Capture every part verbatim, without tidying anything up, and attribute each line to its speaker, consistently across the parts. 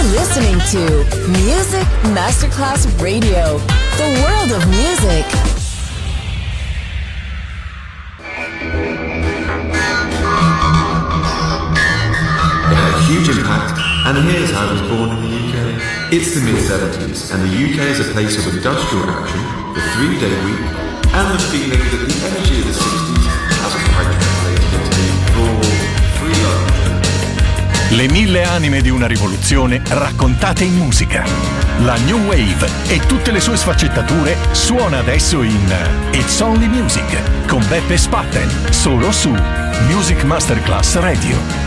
Speaker 1: listening to Music Masterclass Radio, the world of music.
Speaker 2: It had a huge impact, and here's how it was born in the U K. It's the mid seventies, and the U K is a place of industrial action, the three-day week, and the feeling that the energy of the sixties hasn't quite translated into the raw, free love.
Speaker 3: Le mille anime di una rivoluzione raccontate in musica. La New Wave e tutte le sue sfaccettature suona adesso in It's Only Music con Beppe Spatten, solo su Music Masterclass Radio.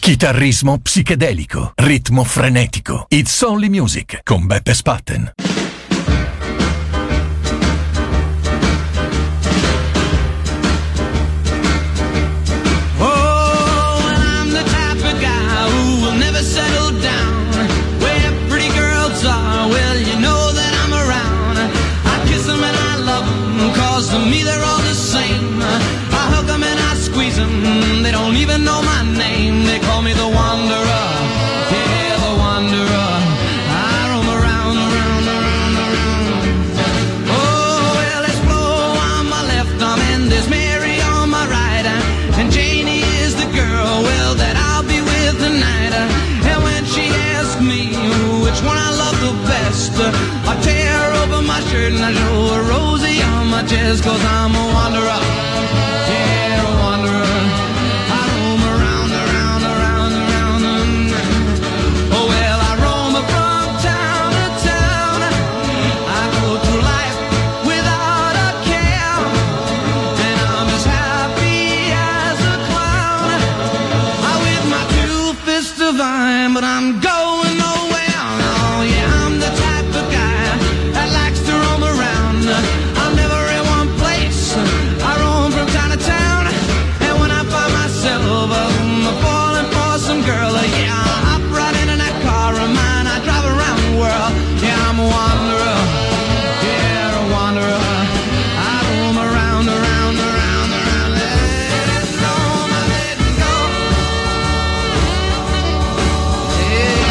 Speaker 3: Chitarrismo psichedelico, ritmo frenetico. It's Only Music con Beppe Spatten.
Speaker 4: To me they're all the same. I hug them and I squeeze them. They don't even know my name. They call me the Wanderer. Yeah, the Wanderer. I roam around, around, around, around. Oh, well, there's Flo on my left arm and there's Mary on my right. And Janie is the girl, well, that I'll be with tonight. And when she asks me which one I love the best, I tear open my shirt and I show her Rosie on my chest, 'cause I'm a wanderer, yeah, a wanderer. I roam around, around, around, around. Oh well, I roam from town to town. I go through life without a care, and I'm as happy as a clown. I with my two fists divine, but I'm going nowhere. Oh yeah, I'm the type of guy that likes to roam around. I'm never in one place. I roam from town to town, and when I find myself um, falling for some girl, uh, yeah, I hop right into that car of mine. I drive around the world. Yeah, I'm a wanderer. Yeah, a wanderer. I roam around, around, around, around. Let it go, let it go. Yeah.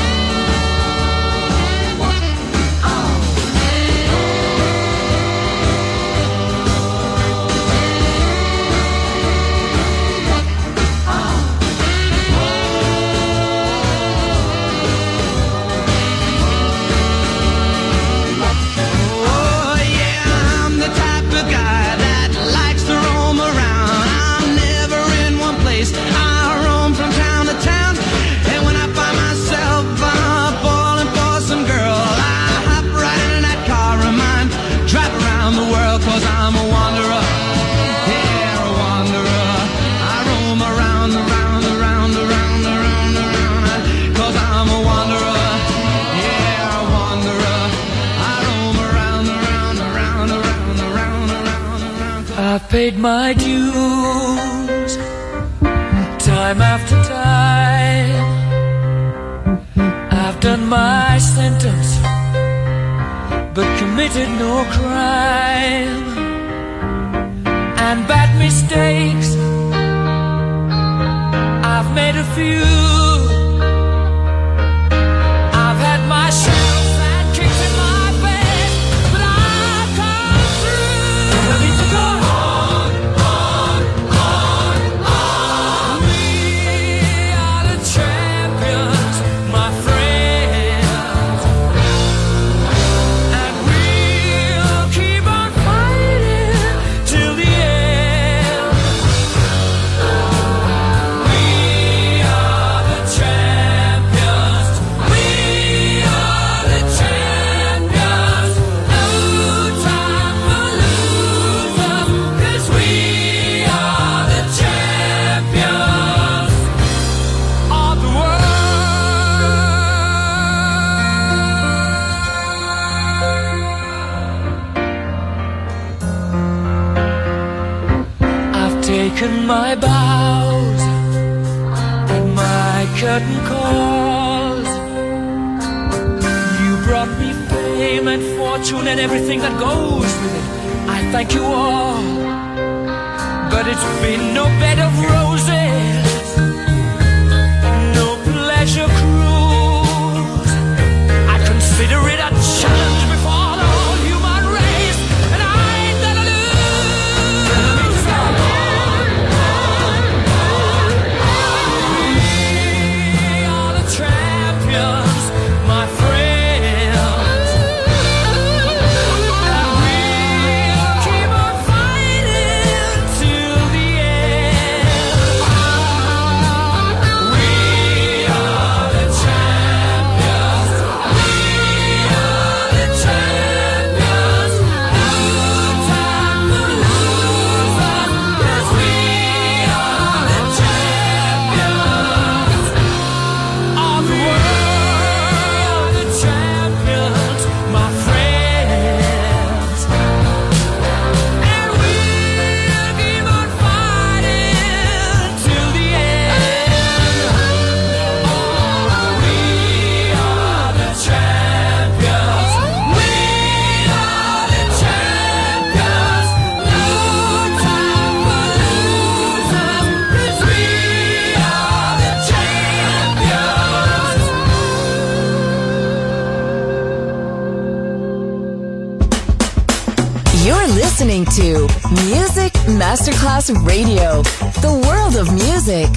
Speaker 4: Oh yeah, I'm the type of guy that likes to roam around. I'm never in one place. I roam from town to town, and when I find myself uh, falling for some girl, I hop right into that car of mine, drive around the world, 'cause I'm a wanderer. Yeah, a wanderer. I roam around, around, around, around, around, around, 'cause I'm a wanderer. Yeah, a wanderer. I roam around, around, around, around, around, around, around.
Speaker 5: I've paid my dues time after time. I've done my sentence but committed no crime. And bad mistakes I've made a few. I've had my share of bad kicks in my face, but I've come through. I need to go on, on, on, on. We are the champions, my friends, and we'll keep on fighting till the end. We are the champions. We are the champions. No time for losers, 'cause we are the champions of the world. I've taken my bows and my curtain calls. You brought me fame and fortune and everything that goes with it. I thank you all, but it's been no bed of roses, no pleasure cruise. I consider it a challenge before the whole human race, and I ain't gonna lose. We are the champions, my friends, and we'll keep on fighting till the end.
Speaker 1: to Music Masterclass Radio, the world of music.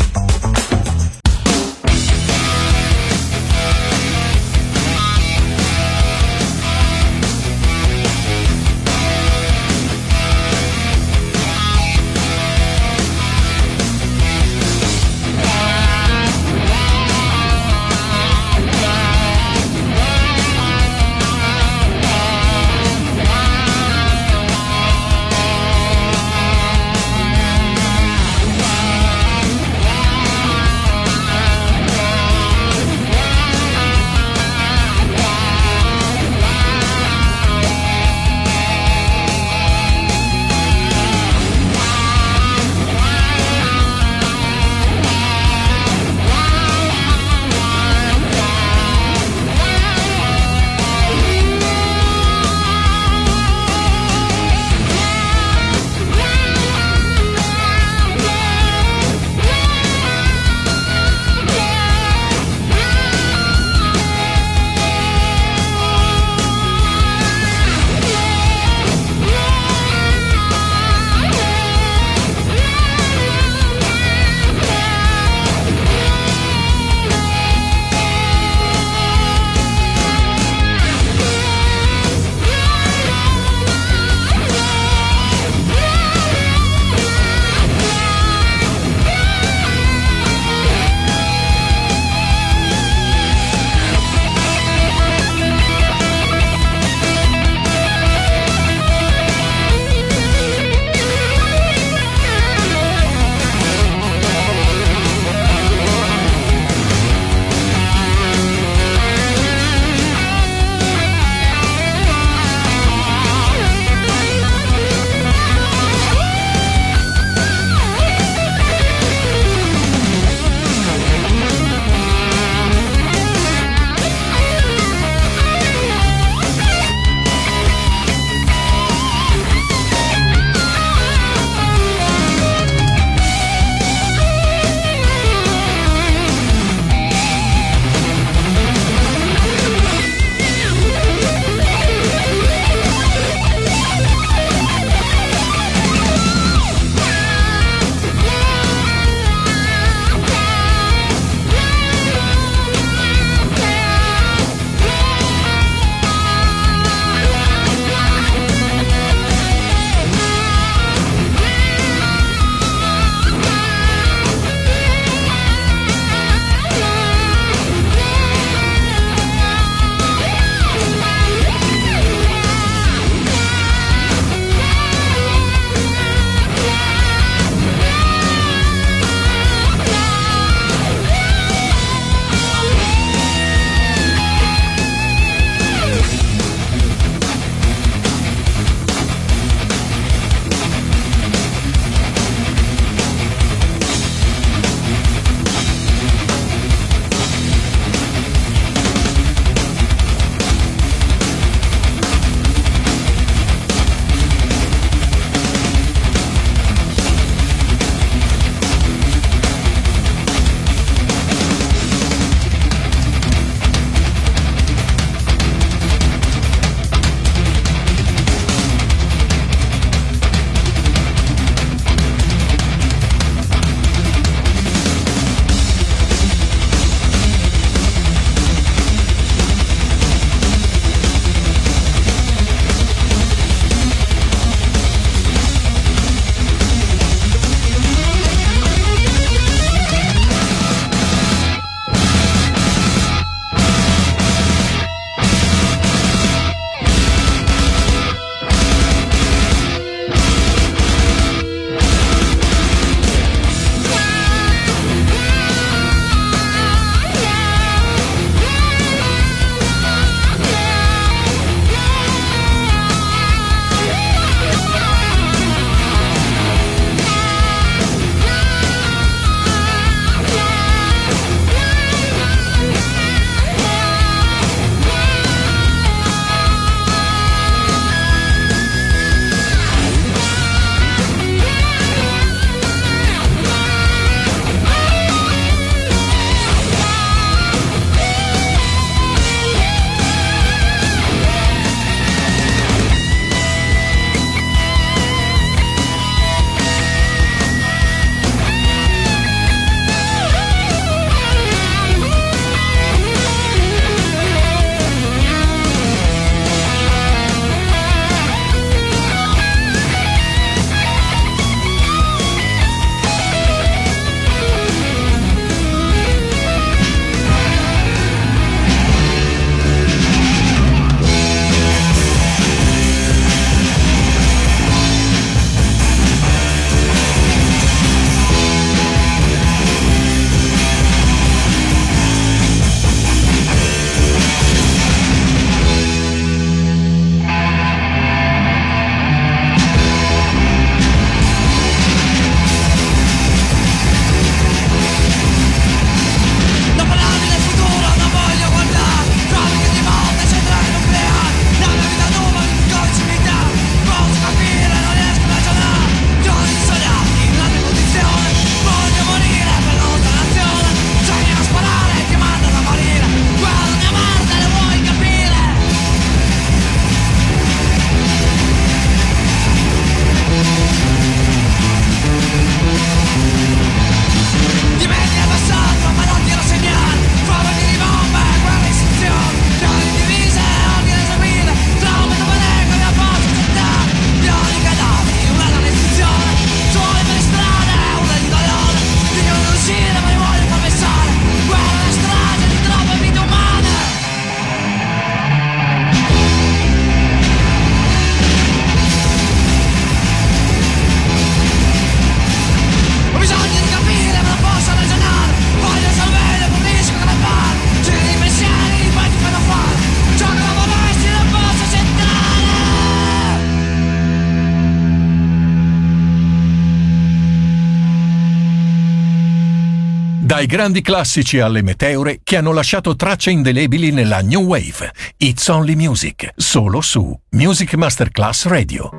Speaker 3: Dai grandi classici alle meteore che hanno lasciato tracce indelebili nella New Wave. It's Only Music, solo su Music Masterclass Radio.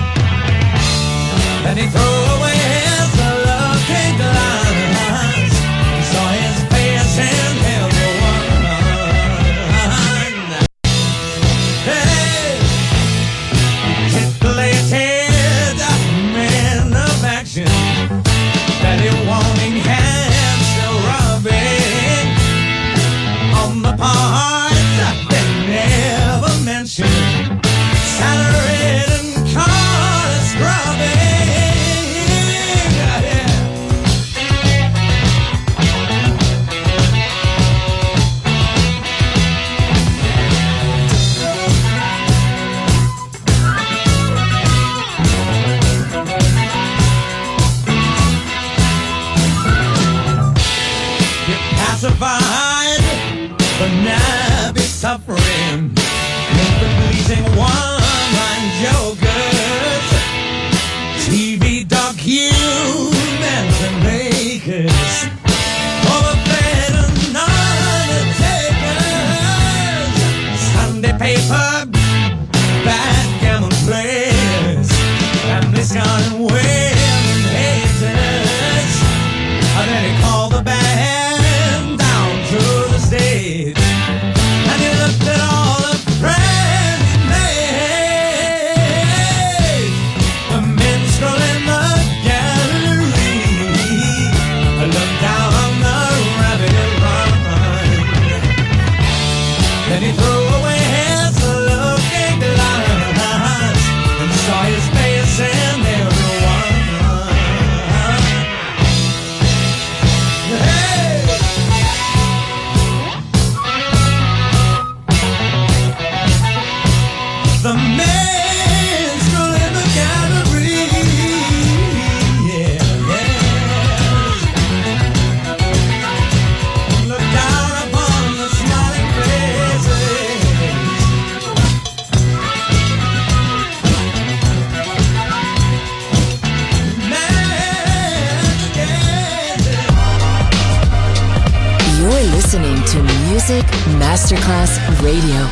Speaker 6: And he throw away his lucky glass.
Speaker 4: crucified, but now be suffering. Make the pleasing one-line jokers, T V documents and makers, overfed and undertakers, Sunday paper, backgammon players, and this kind of way haters. And then he called the band down to the stage, and he looked at all the friends he made. The minstrel in the gallery looked down on the rabbit run. Then he threw away his looking glass and saw his face in everyone. Hey! The minstrel in the gallery, yeah, yeah. Look down upon the smiling faces. Man, yeah.
Speaker 1: You're listening to Music Masterclass Radio.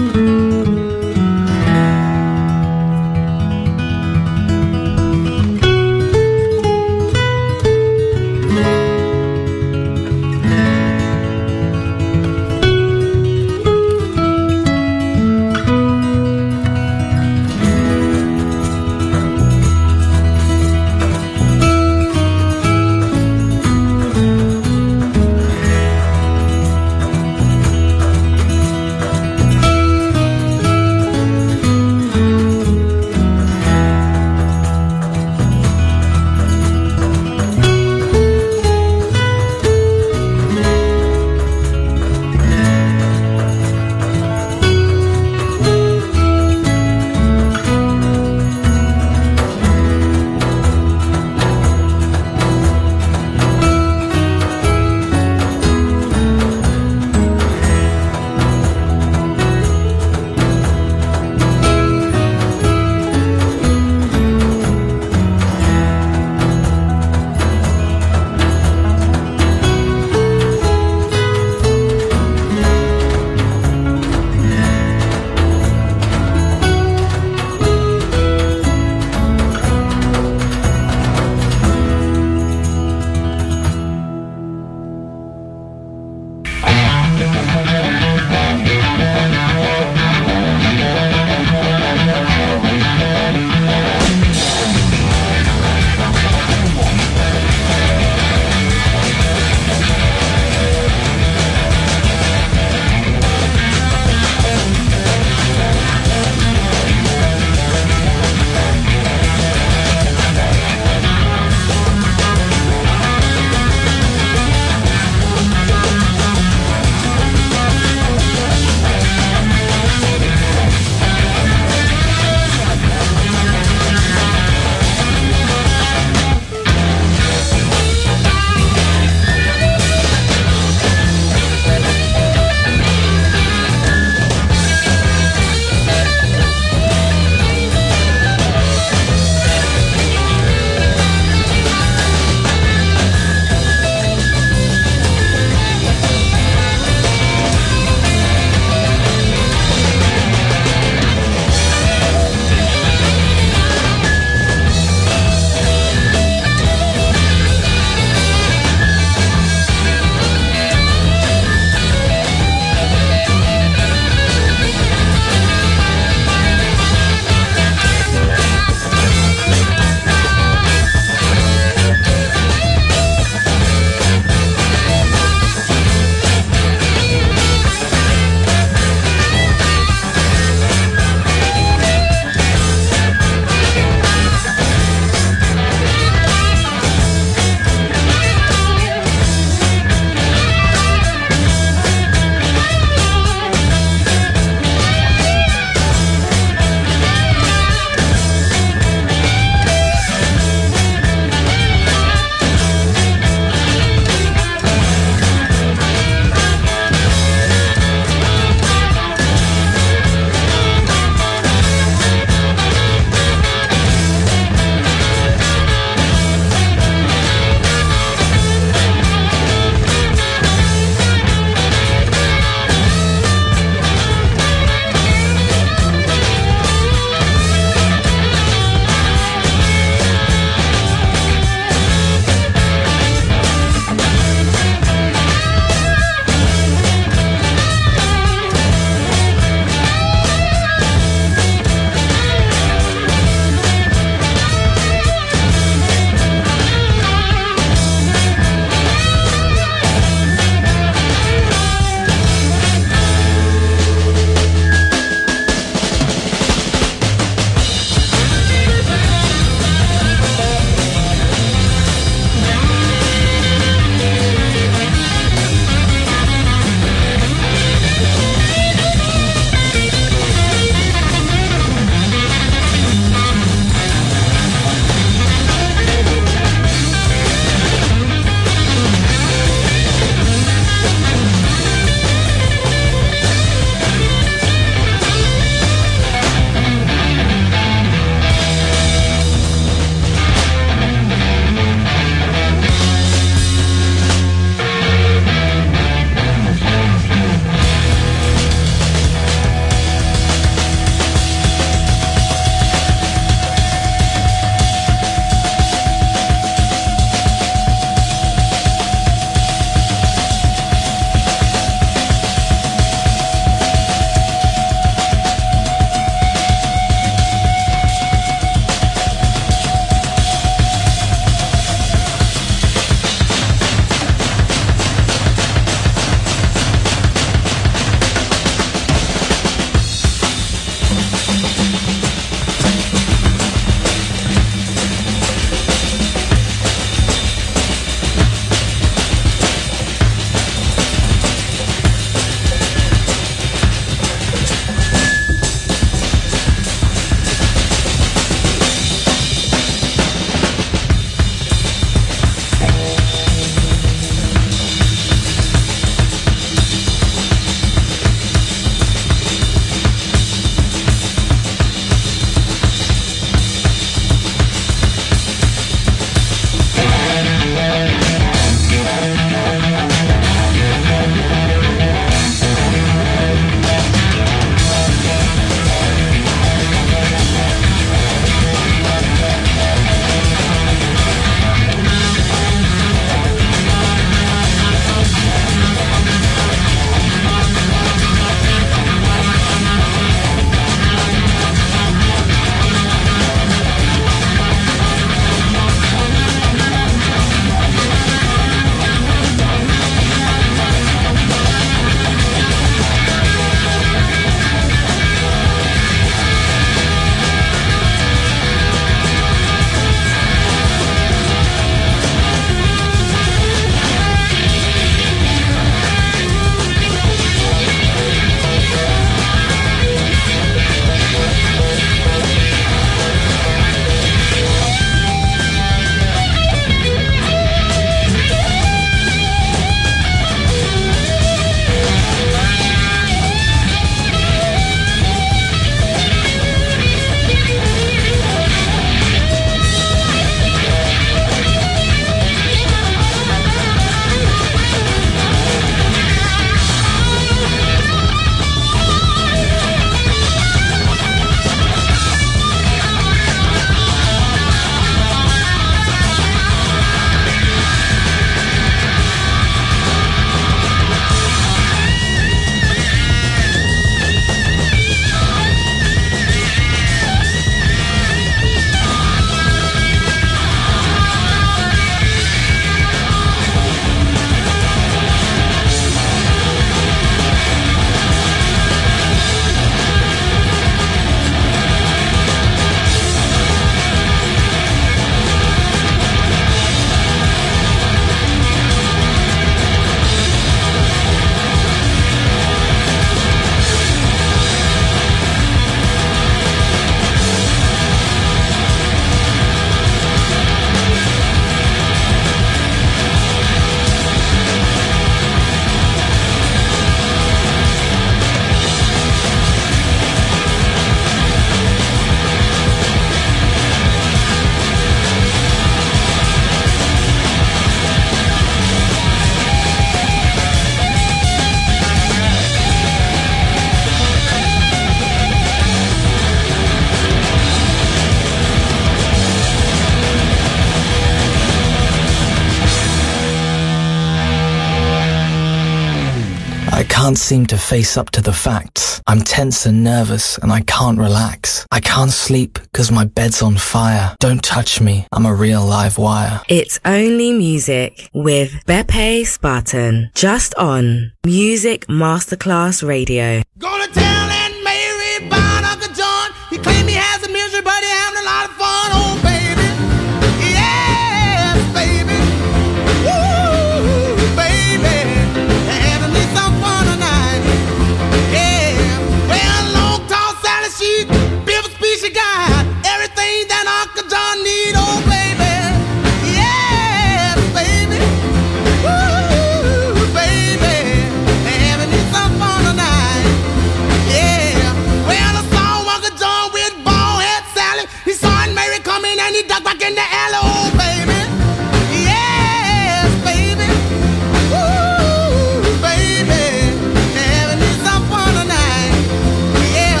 Speaker 6: can't seem to face up to the facts. I'm tense and nervous and I can't relax. I can't sleep because my bed's on fire. Don't touch me, I'm a real live wire.
Speaker 7: It's Only Music with Beppe Spartan, just on Music Masterclass Radio.
Speaker 4: Gonna tell Aunt Mary about Uncle John. He claimed he has a misery, but he having a lot of fun. Oh, baby. Yes, baby. Woo, baby. Having me some fun tonight. Yeah. Well, long, tall, Sally, she built a speech, she got everything that Uncle John need. Oh, baby. Yes, baby. Woo, baby. Having me some fun tonight. Yeah. Well, I saw Uncle John with bald head Sally. He saw Aunt Mary coming and he ducked back in the alley. Oh, baby. Yes, baby. Woo, baby. Having me some fun tonight. Yeah.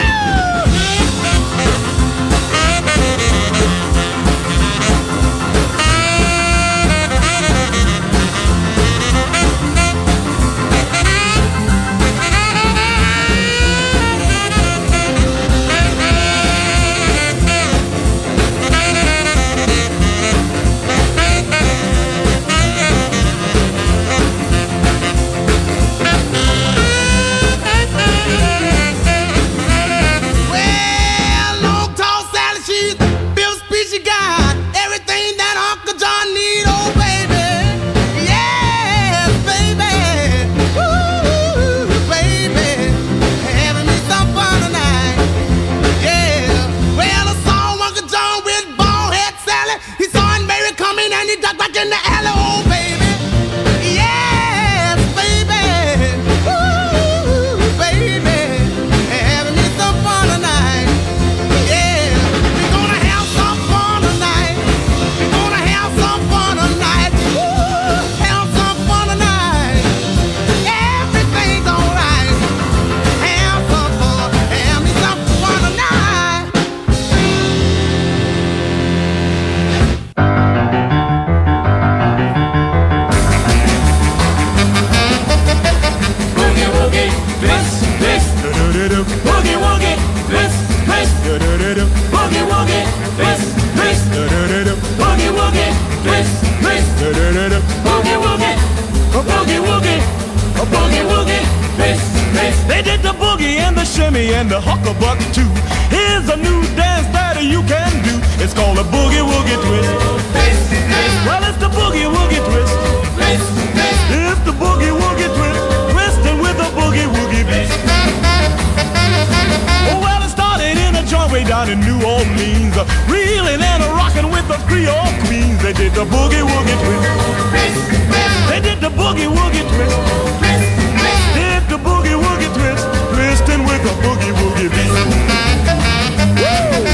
Speaker 4: Well, long, tall Sally, she's built a speech, she got everything that Uncle John need. Oh, baby. Yes, baby. Woo, baby. Having me some fun tonight. Yeah. Well, I saw Uncle John with bald head Sally. He saw Aunt Mary coming and he ducked back in the alley. Oh, baby. Yes, baby. Woo, baby. Having me some fun tonight. Yeah. We're gonna have some fun tonight. We're gonna have some fun tonight. Woo, have some fun tonight. Everything's alright. Have some fun. Have me some fun tonight.
Speaker 5: Boogie woogie, twist, twist. Boogie woogie, twist, twist. Boogie woogie, twist, twist. Boogie woogie, twist, twist. Boogie woogie, a boogie woogie, a boogie woogie, twist, twist.
Speaker 8: They did the boogie and the shimmy and the huckabuck too. Here's a new dance that you can do. It's called a boogie woogie twist.
Speaker 5: Twist, twist,
Speaker 8: Well, it's the boogie woogie twist.
Speaker 5: twist, twist.
Speaker 8: It's the boogie woogie twist, twisting with a boogie woogie beat. Oh, well, it started in a joint way down in New Orleans, uh, reeling and a rocking with the Creole queens. They did the boogie woogie twist. They did the boogie woogie twist. Did the boogie woogie twist, twisting with a boogie woogie beat. Woo!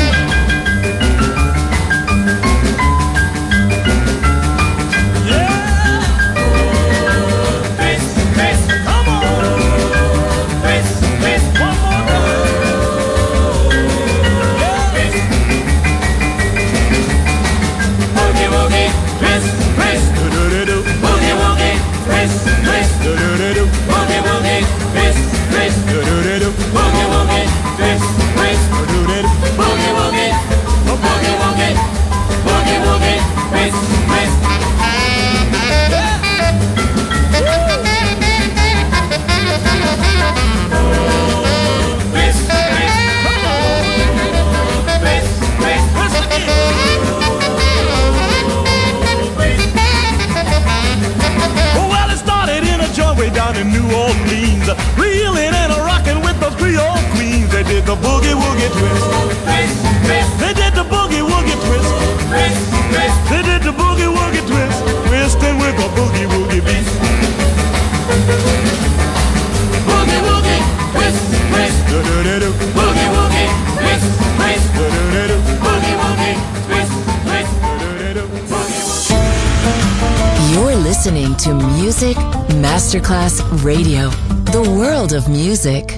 Speaker 8: Yeah!
Speaker 5: Twist, twist,
Speaker 8: Come on!
Speaker 5: twist, twist.
Speaker 8: One more time!
Speaker 5: Twist. Boogie woogie, twist, twist.
Speaker 8: Do-do-do-do.
Speaker 5: Boogie woogie, twist, twist.
Speaker 8: Do-do-do-do.
Speaker 5: Boogie woogie, twist, twist.
Speaker 8: Do-do-do-do.
Speaker 5: Boogie woogie, twist, twist.
Speaker 8: Do-do-do-do.
Speaker 5: Boogie woogie, oh boogie woogie, boogie woogie, twist, twist. Twist, twist. Twist, twist.
Speaker 8: Twist again. Oh, well, it started in a joint way down in New Orleans, reeling and a rocking with the Creole queens. They did the boogie woogie twist.
Speaker 5: Twist, twist,
Speaker 8: They did the boogie woogie twist.
Speaker 5: twist, twist.
Speaker 8: They did the boogie woogie twist, twisting with a boogie woogie beat.
Speaker 5: Boogie woogie, twist, twist.
Speaker 8: Do-do-do-do.
Speaker 5: Boogie woogie, twist, twist.
Speaker 8: Do-do-do-do.
Speaker 5: Boogie woogie, twist, twist.
Speaker 8: Do-do-do-do.
Speaker 5: Boogie woogie.
Speaker 1: You're listening to Music Masterclass Radio, the world of music.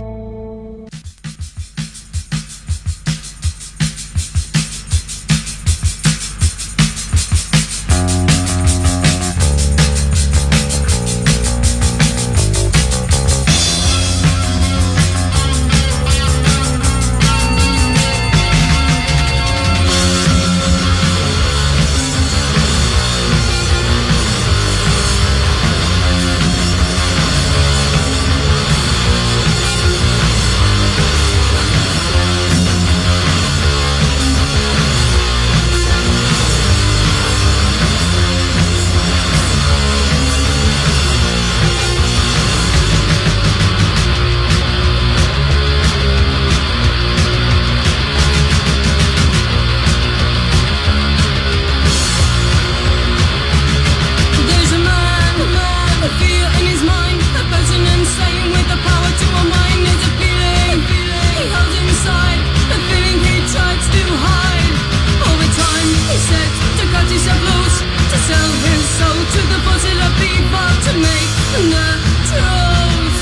Speaker 9: piece of loot, to sell his soul to the bottle of people to make the truth.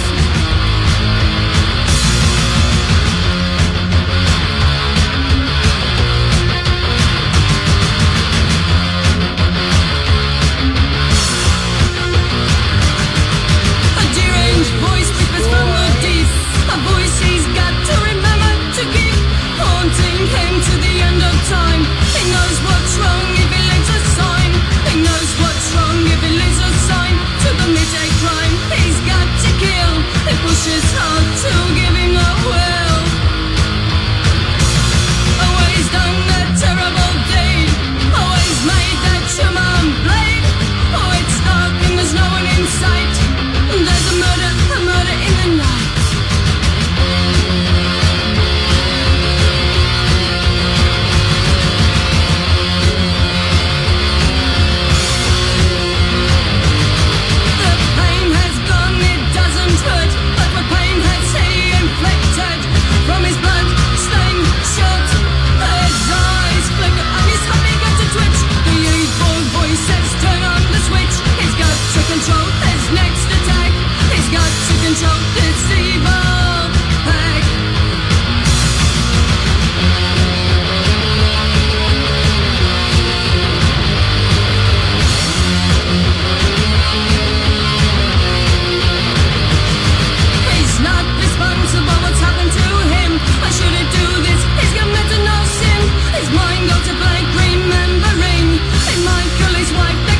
Speaker 9: A deranged voice whispers from the deep, a voice he's got to remember to keep haunting him to the end of time. He knows what's wrong if he leaves a sign. He knows what's wrong if he leaves a sign to commit a crime. He's got to kill. He pushes hard to giving a will. Always done that terrible deed. Always made that human blade. Oh, it's dark and there's no one in sight. There's a murder, a murder in the night. From his blood stained shirt, his eyes flicker and his happy got to twitch. The evil voice says turn on the switch. He's got to control his next attack. He's got to control this evil pack. He's not responsible what's happened to him. Why should he do this? He's committed no sin. His mind goes to blank remembering. He might kill his wife.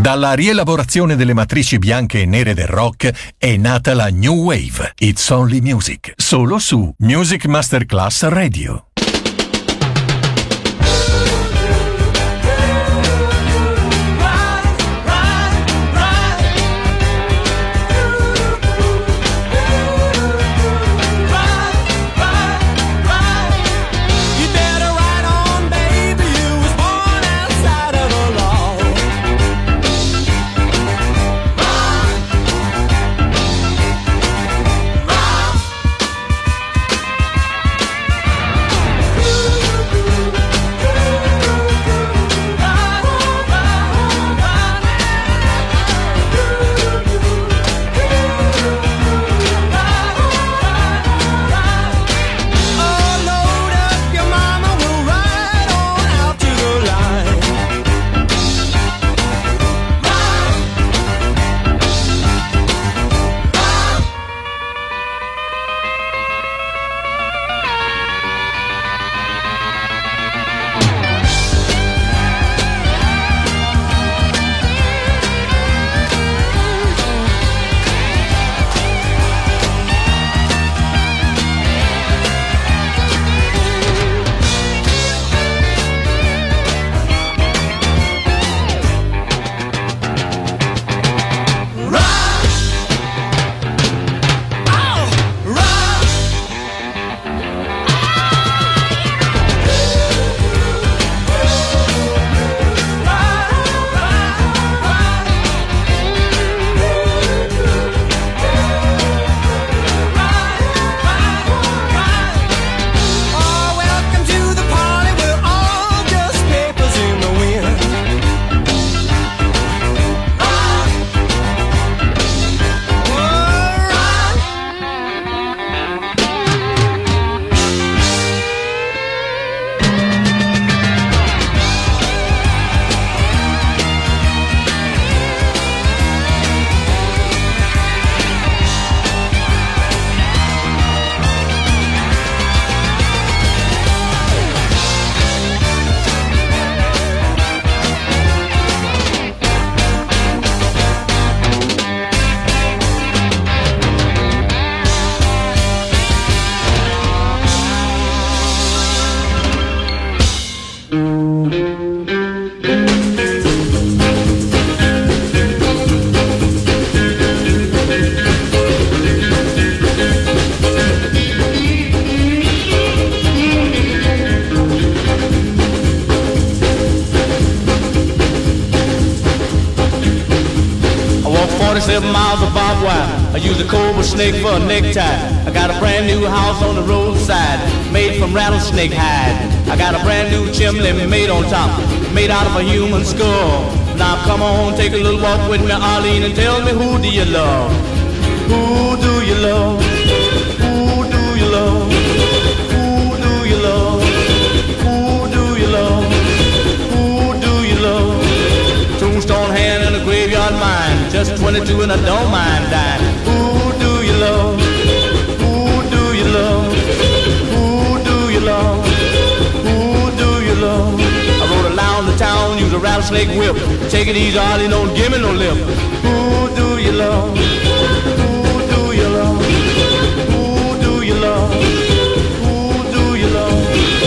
Speaker 3: Dalla rielaborazione delle matrici bianche e nere del rock è nata la New Wave. It's Only Music, solo su Music Masterclass Radio.
Speaker 10: forty-seven miles of barbed wire. I use a cobra snake for a necktie. I got a brand new house on the roadside, made from rattlesnake hide. I got a brand new chimney made on top, made out of a human skull. Now come on, take a little walk with me, Arlene, and tell me, who do you love? Who do you love? Who do you love? Who do you love? Who do you love? Who do you love? Tombstone hand and a graveyard mine, just twenty-two and I don't mind dying. Who do you love? Who do you love? Who do you love? Who do you love? I rode around the town, use a rattlesnake whip. Take it easy, Arlie, don't give me no lip. Who do you love? Who do you love? Who do you love? Who do you love?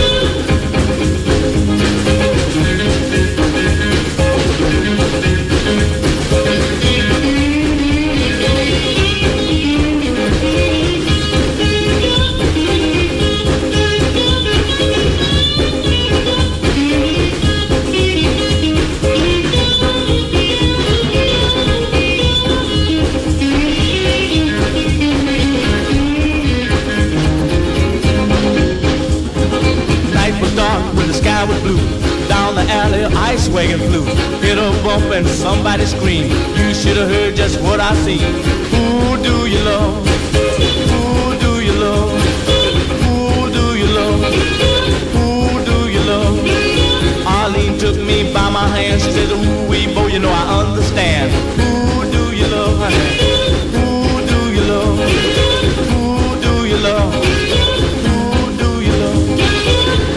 Speaker 10: Was blue. Down the alley, ice wagon flew. Hit a bump and somebody screamed. You should have heard just what I seen. Who do you love? Who do you love? Who do you love? Who do you love? Arlene took me by my hand. She said, ooh, wee, boy, you know I understand. Who do you love, honey? Who do you love? Who do you love?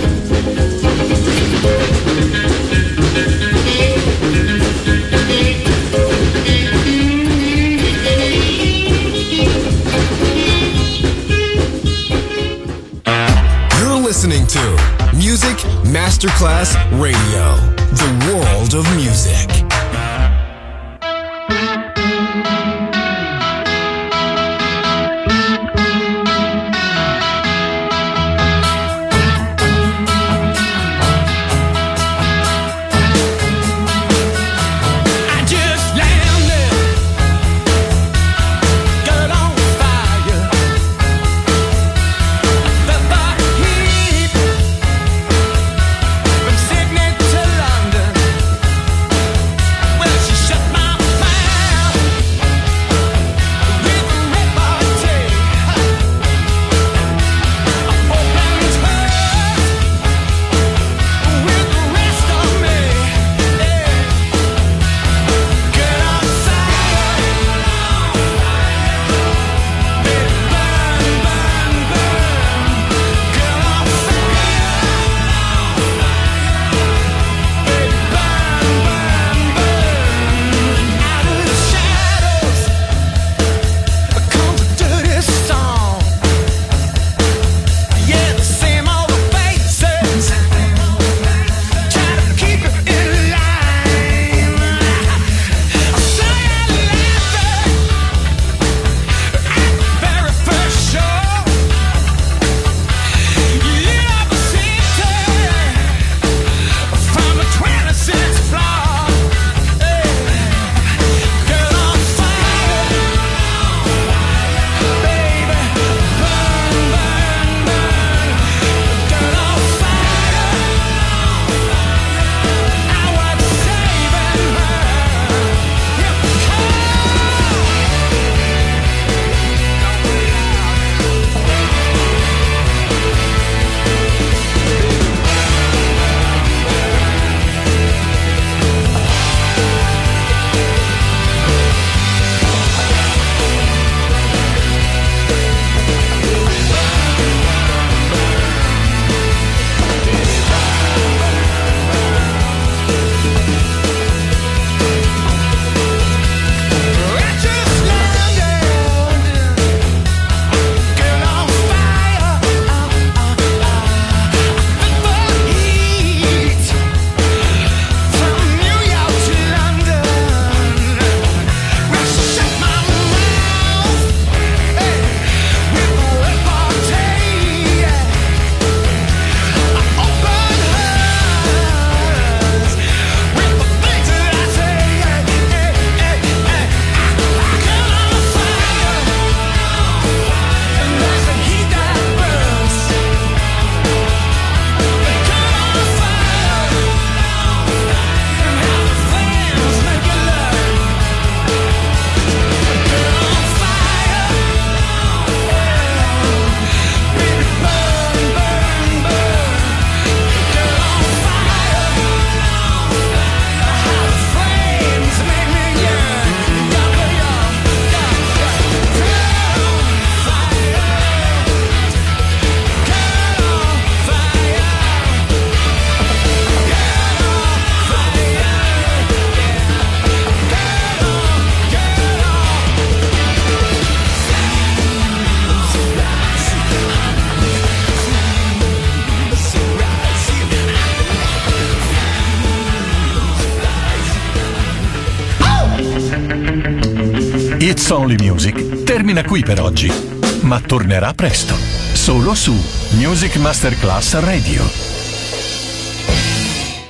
Speaker 10: Thank you.
Speaker 11: Masterclass Radio, the world of music.
Speaker 3: It's Only Music termina qui per oggi, ma tornerà presto, solo su Music Masterclass Radio.